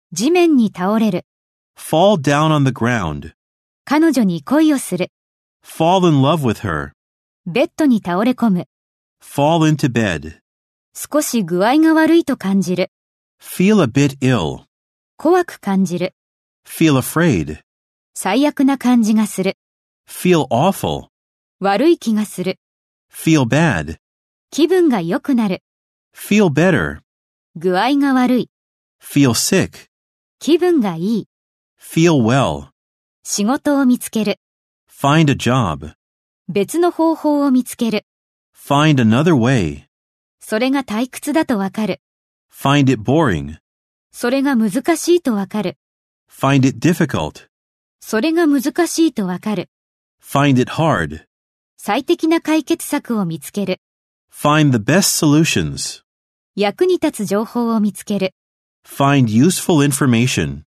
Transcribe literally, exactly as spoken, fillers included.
地面に倒れる。 fall down on the ground, 彼女に恋をする。 fall in love with her, ベッドに倒れ込む。 fall into bed, 少し具合が悪いと感じる。 feel a bit ill, 怖く感じる。 feel afraid, 最悪な感じがする。 feel awful, 悪い気がする。 feel bad, 気分が良くなる。 feel better, 具合が悪い。 feel sick, 気分がいい。 feel well, 仕事を見つける。 find a job, 別の方法を見つける。 find another way, それが退屈だとわかる。 find it boring, それが難しいとわかる。 find it difficult, それが難しいとわかる。 find it hard, 最適な解決策を見つける。 find the best solutions, 役に立つ情報を見つける。 find useful information.